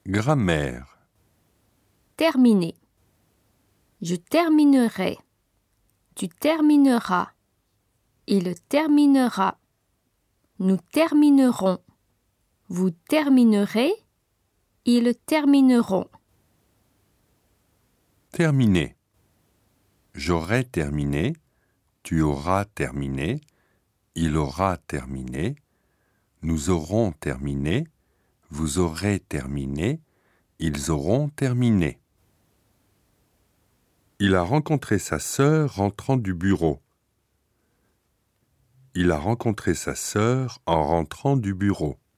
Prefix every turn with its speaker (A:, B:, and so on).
A: Grammaire.
B: Terminer. Je terminerai. Tu termineras. Il terminera. Nous terminerons. Vous terminerez. Ils termineront.
A: Terminer. J'aurai terminé. Tu auras terminé. Il aura terminé. Nous aurons terminé. Vous aurez terminé. Ils auront terminé. Il a rencontré sa sœur rentrant du bureau. Il a rencontré sa sœur en rentrant du bureau.